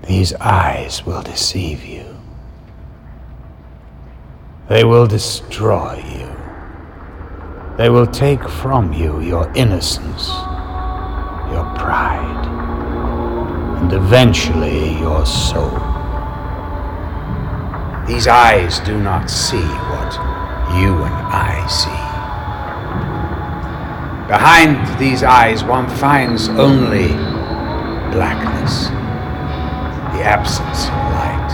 These eyes will deceive you. They will destroy you. They will take from you your innocence, your pride, and eventually your soul. These eyes do not see what you and I see. Behind these eyes one finds only blackness, the absence of light.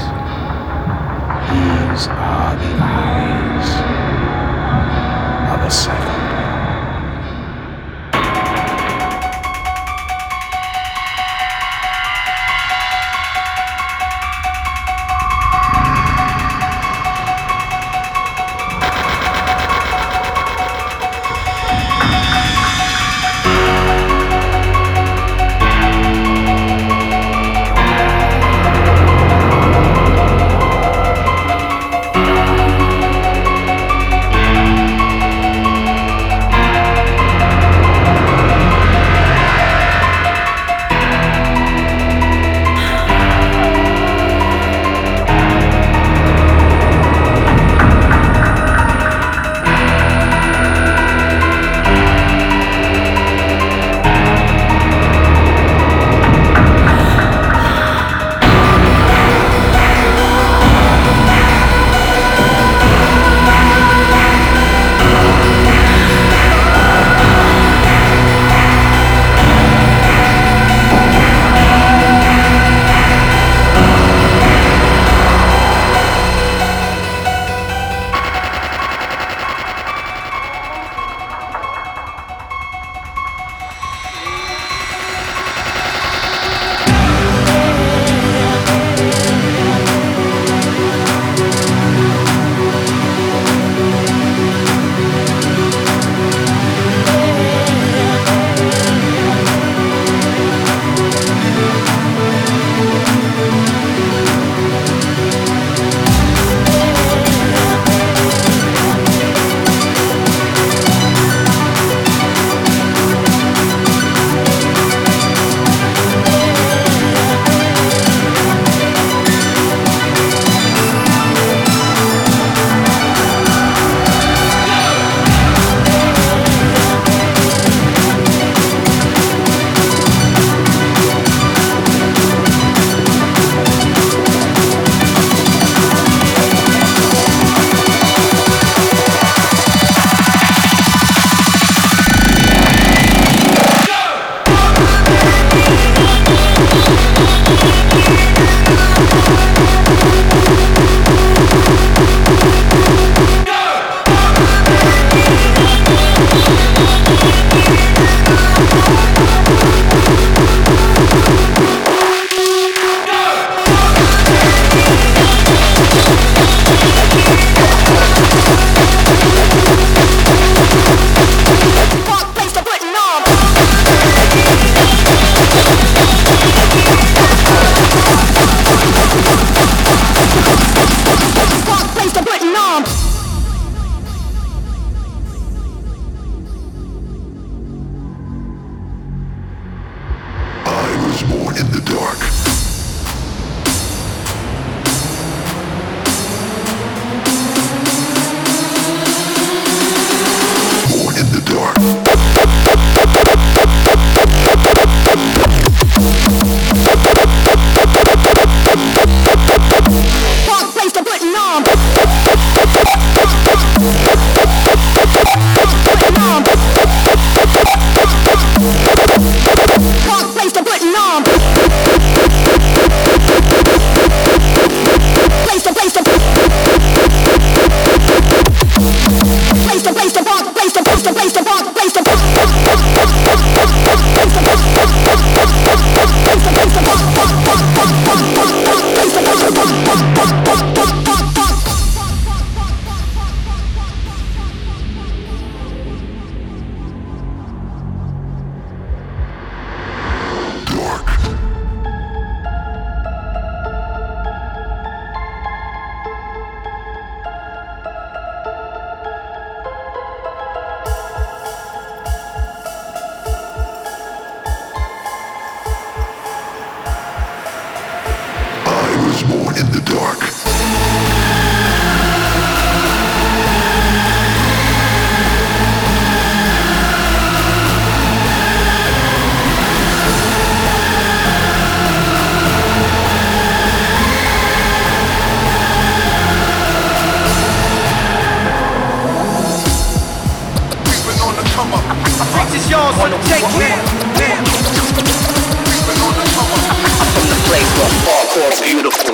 These are the eyes of a psychopath. Dark. more in the dark. This is yours for the taking. From the place where hardcore's beautiful.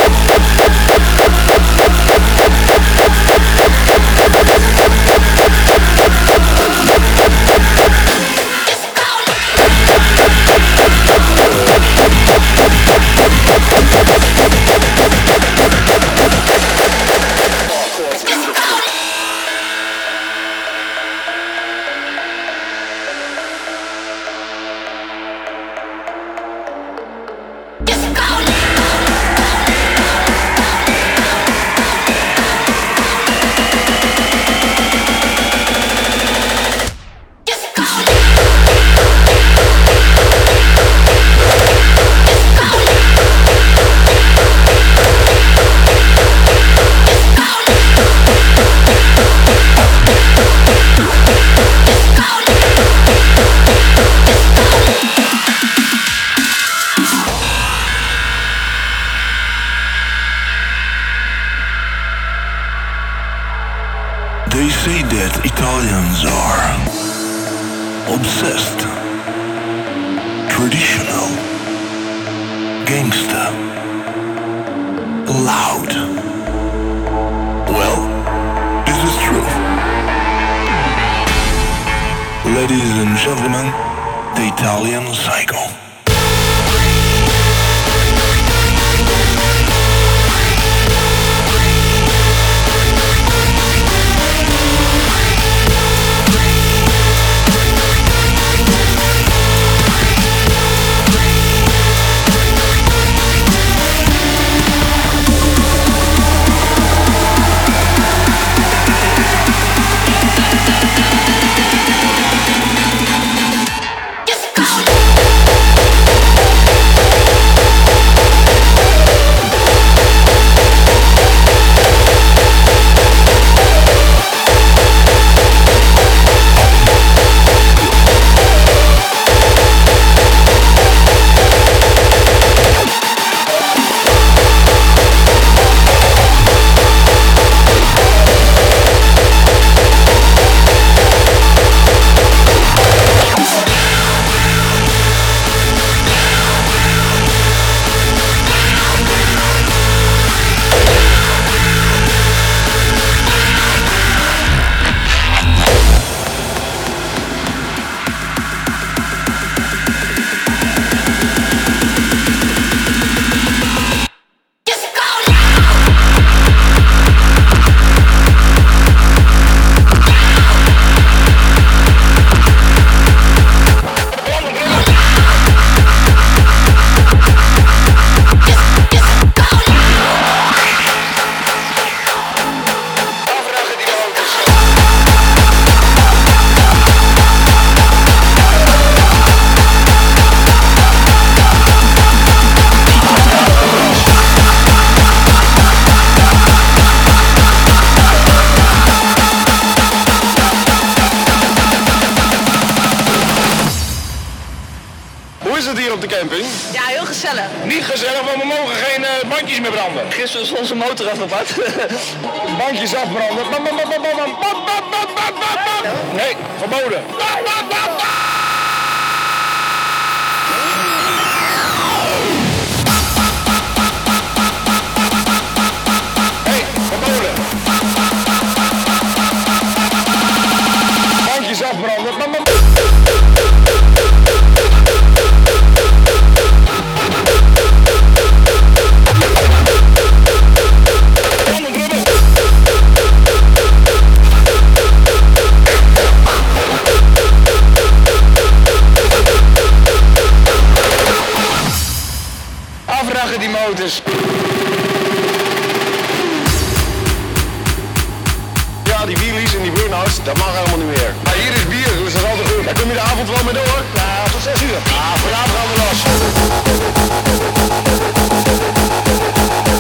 They say that Italians are obsessed, traditional, gangsta, loud. Well, this is true. Ladies and gentlemen, the Italian Psycho. Hoe is het hier op de camping? Ja, heel gezellig. Niet gezellig, want we mogen geen bandjes meer branden. Gisteren was onze motor afgepakt. Bandjes afbranden. Nee, verboden. Hey, verboden. Bandjes afbranden. Afragen die motors. Ja, die wheelies en die burnouts, dat mag helemaal niet meer. Maar hier is bier, dus dat is altijd goed. Daar kom je de avond wel mee door. Ja, tot 6 uur. Ah, vanavond gaan we los.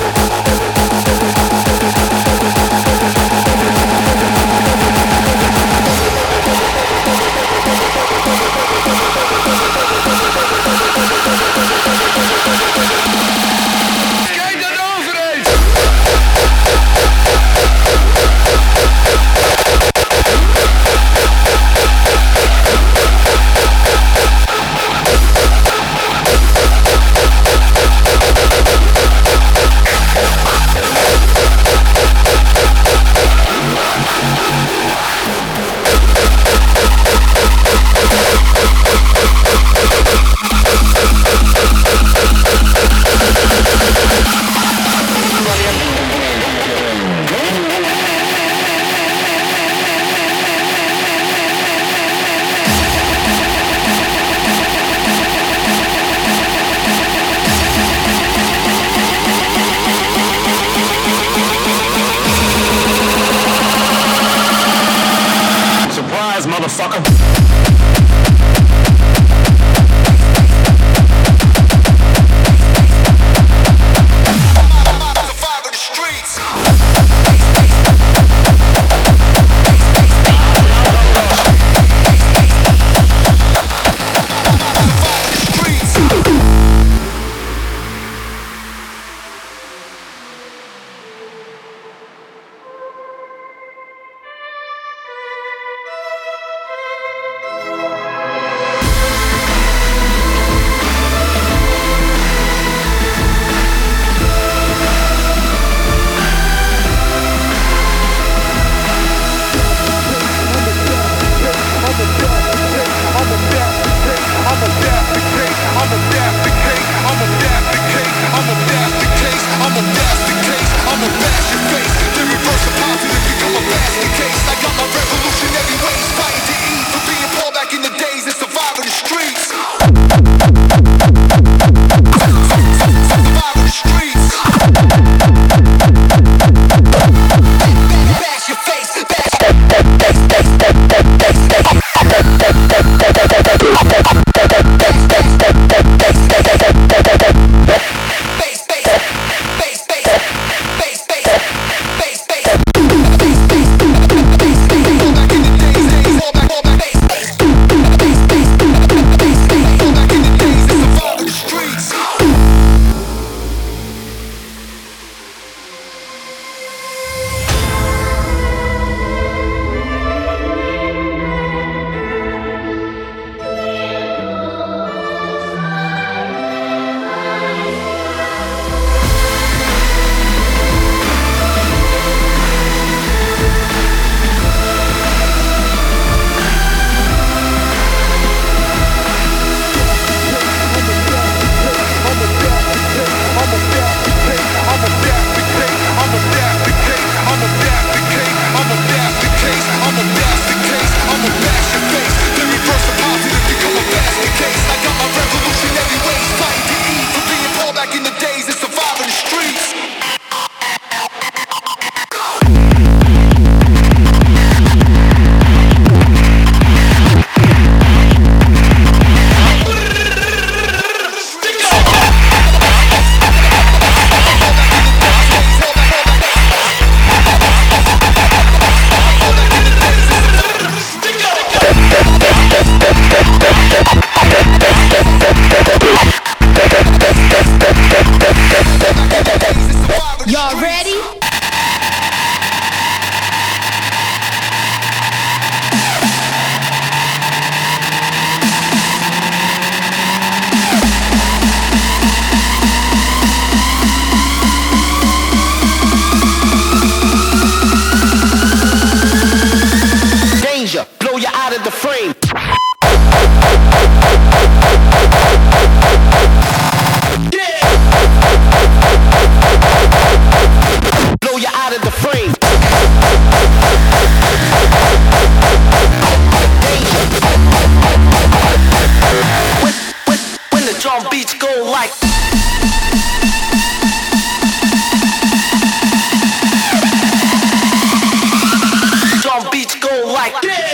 Drum beats go like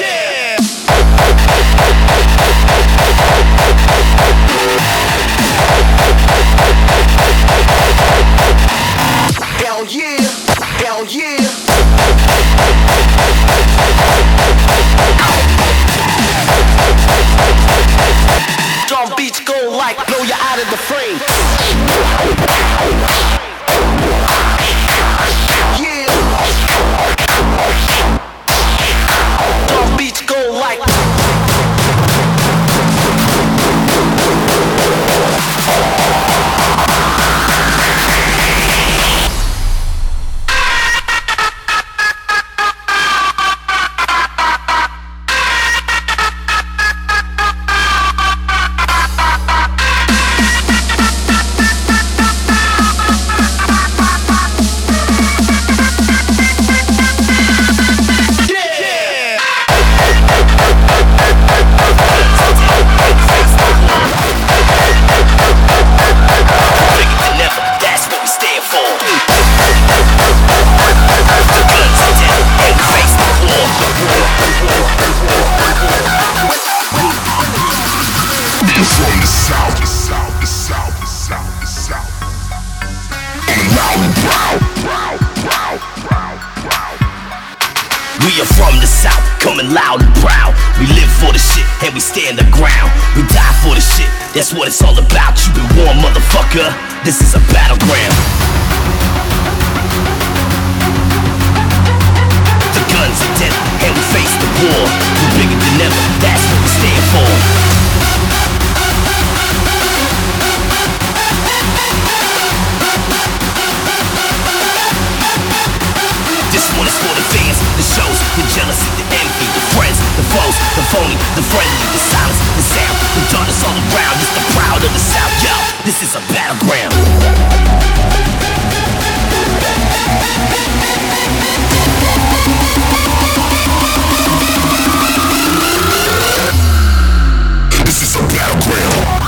hell yeah, hell yeah. Drum beats go like blow you out of the frame. Yeah. Drum beats go like we are from the south, coming loud and proud. We live for the shit and we stand the ground. We die for the shit, that's what it's all about. You been warned, motherfucker, this is a battleground. The guns are dead and we face the war. We're bigger than ever, that's what we stand for. This one is for the fans, the shows, the jealousy, the envy, the friends, the foes, the phony, the friendly, the silence, the sound, the darkness all around. It's the proud of the South, yo. This is a battleground. This is a battleground.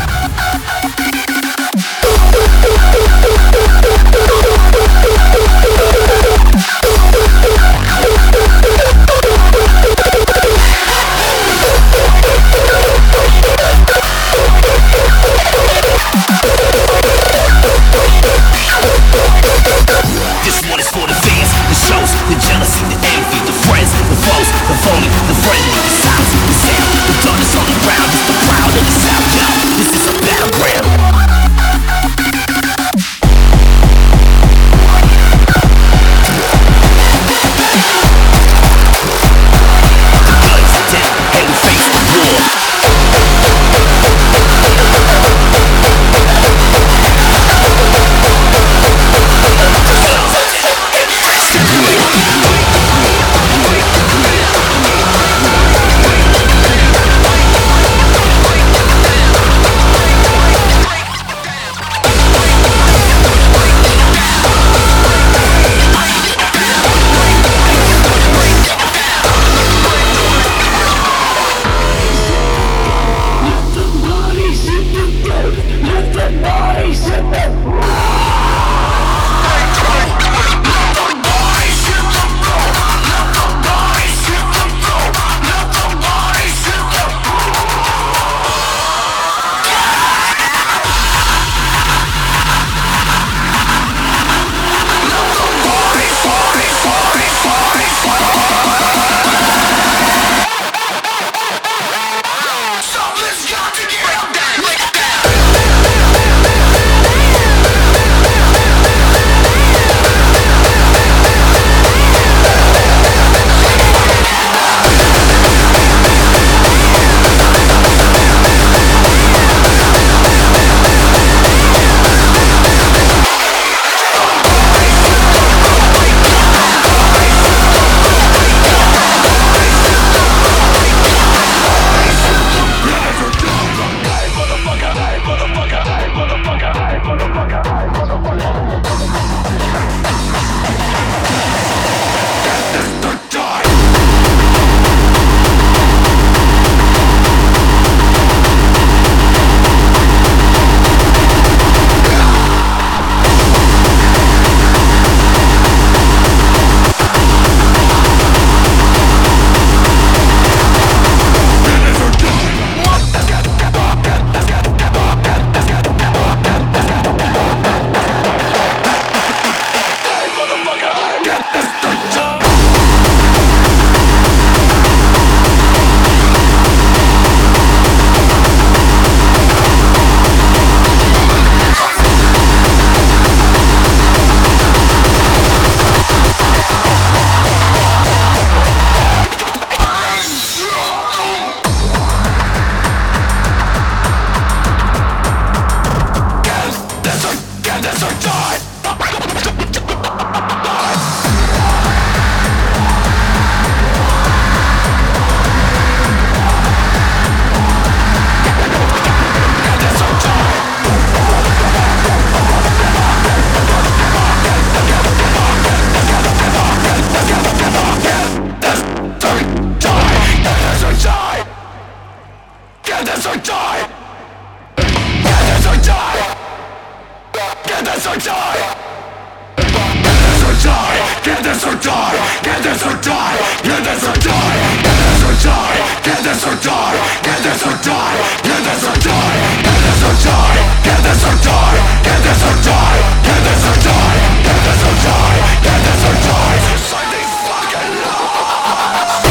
this or die! Get this or die! Get this or die! Get this or die! Get this or die! Get this or die! Get this or die! Get this or die! Get this or die! Get this or die! Get this or die! Get this or die! Get this or die! Get this or die! Get this or die! Society fucking law!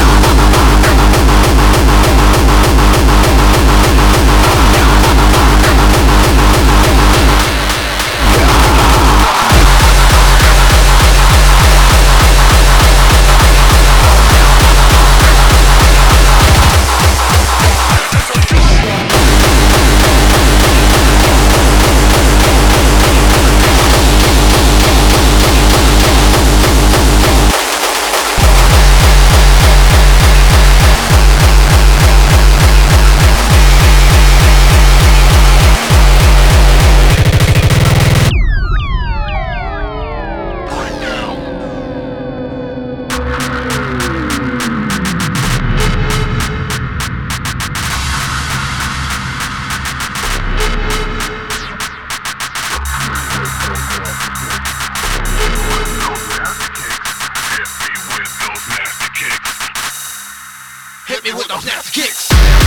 Hit me with those nasty kicks.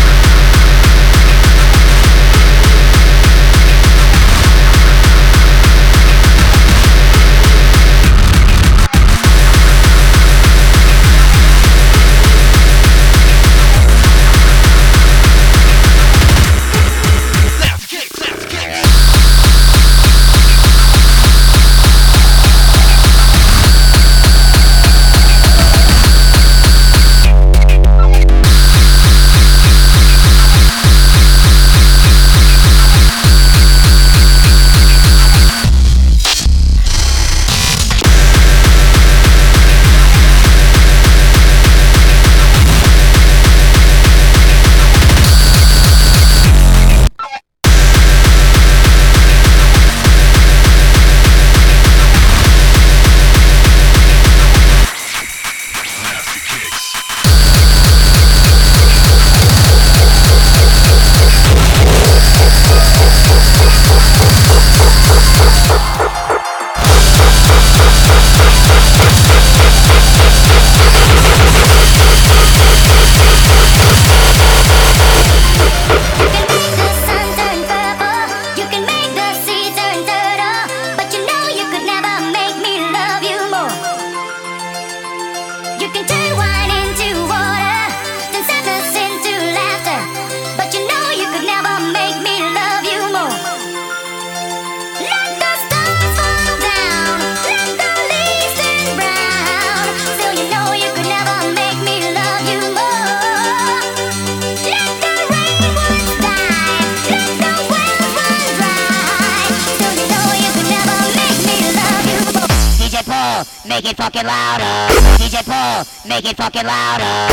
Make it fucking louder. DJ Paul, make it fucking louder.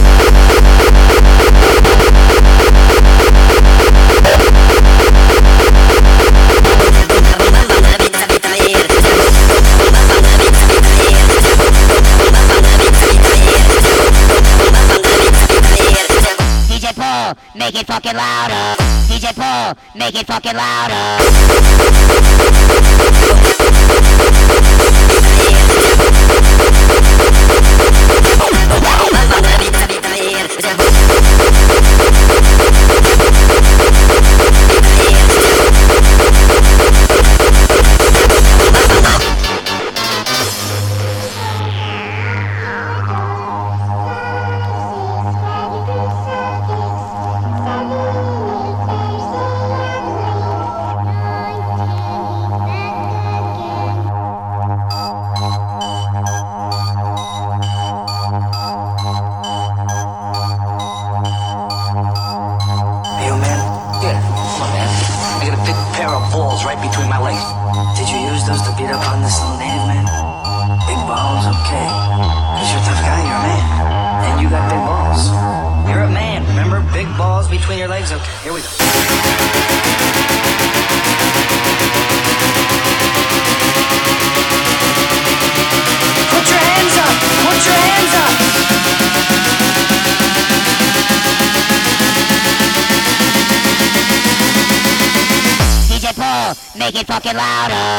DJ Paul, make it fucking louder. DJ Paul, make it fucking louder. Right between my legs. Did you use those to beat up on this little native man? Big balls, okay. Cause you're a tough guy, you're a man. And you got big balls. You're a man, remember? Big balls between your legs, okay. Here we go. Put your hands up! Put your hands up! make it fucking louder.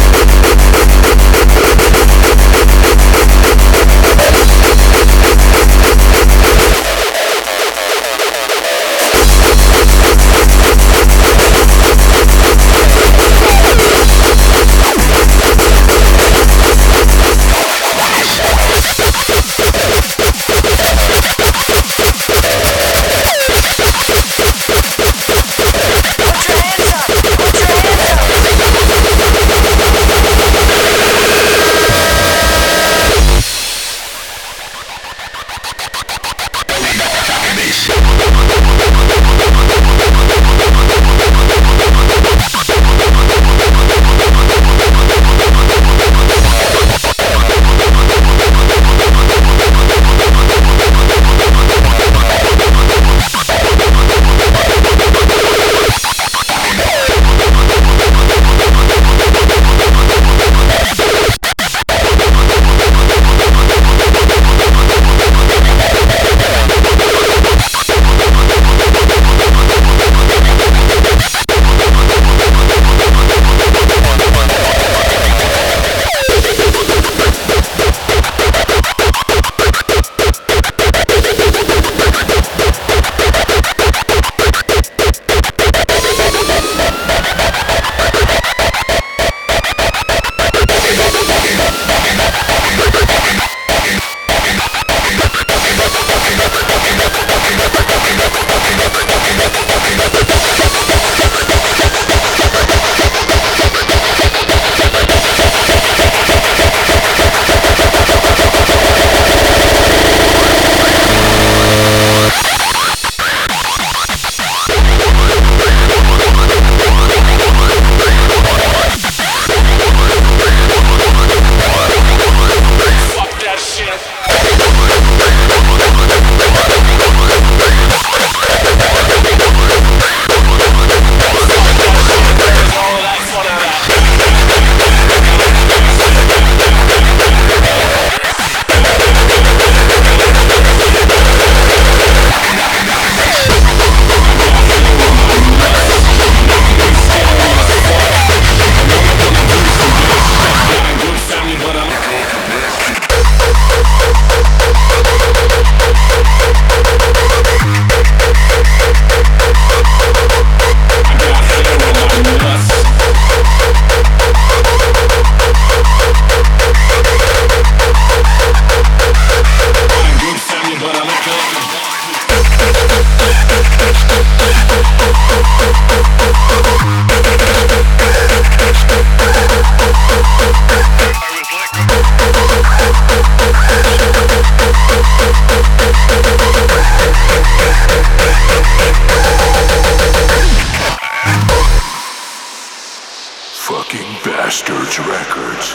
Bastards Records.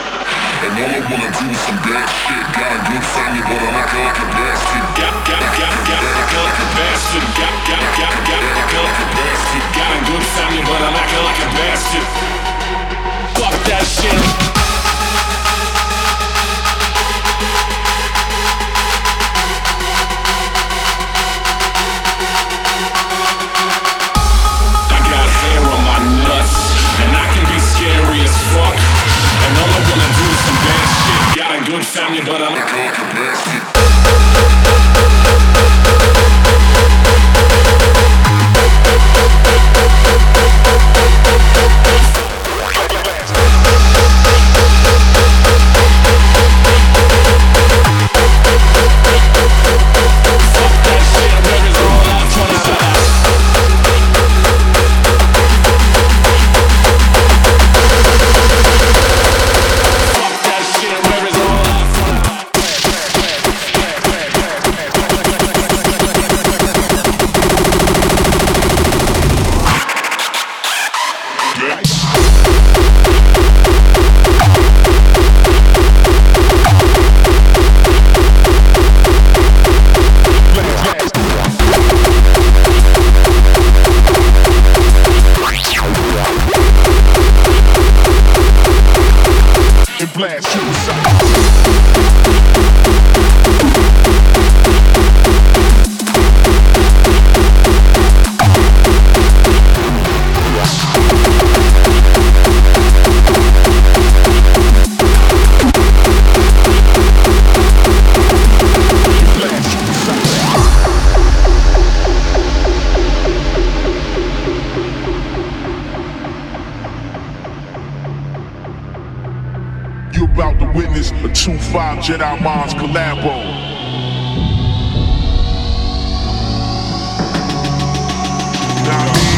And all I wanna do is some bad shit. Got a good family, but I like a bastard. Got a bastard. Got a good family, but I like a bastard. Fuck that shit. Good family, but I'm like a bastard. about to witness a 2-5 Jedi Minds collabo. Now I mean,